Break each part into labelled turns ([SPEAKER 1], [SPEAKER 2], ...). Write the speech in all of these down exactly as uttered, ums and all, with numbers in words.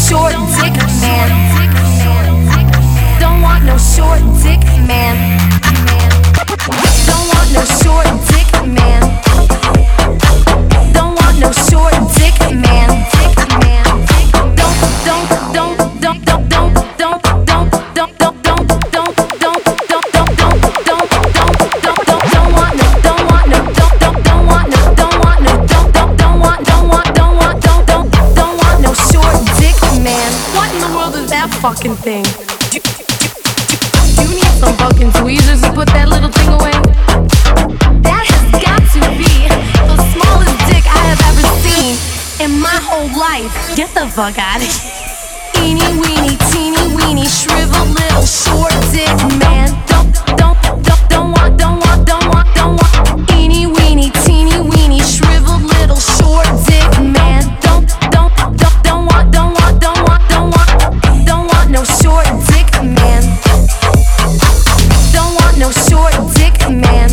[SPEAKER 1] short dick man. Don't want no short dick man. Don't want no short dick man. Don't want no short dick man. Don't don't don't don't don't don't don't don't don't don't don't don't don't don't don't don't don't want no don't want no don't don't don't want no don't want no don't don't don't want don't want don't want don't don't don't want no short dick man. What in the world is that fucking thing? You need some fucking tweezers to put that little thing away. That has got to be the smallest dick I have ever seen in my whole life. Get the fuck out of here. Eeny weeny teeny weeny shriveled little short dick man. Don't don't don't don't want don't want don't want don't want. Eeny weeny teeny weeny shriveled little short dick man. Don't don't don't don't want don't want don't want don't want don't want no short dick man. Don't want no short dick man.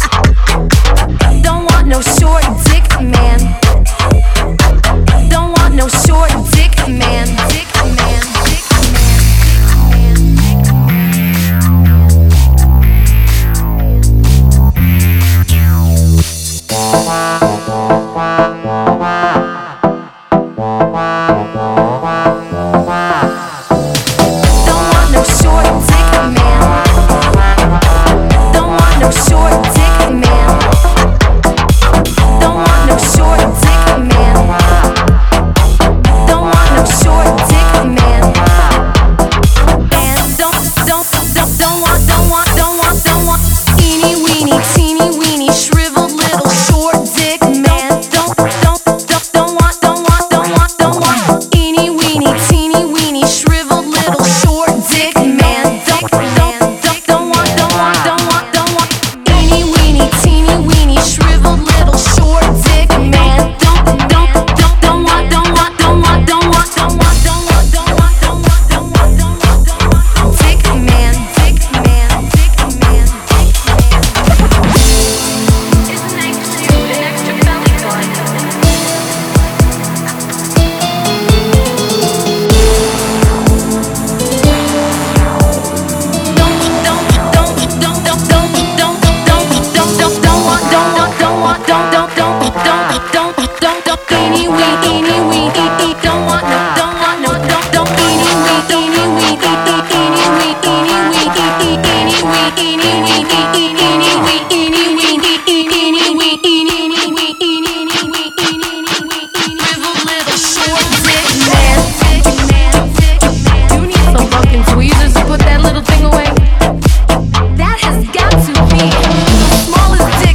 [SPEAKER 1] Don't want no short dick man. Don't want no short dick man. Dick man. Dick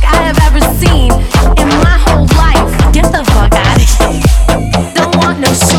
[SPEAKER 1] no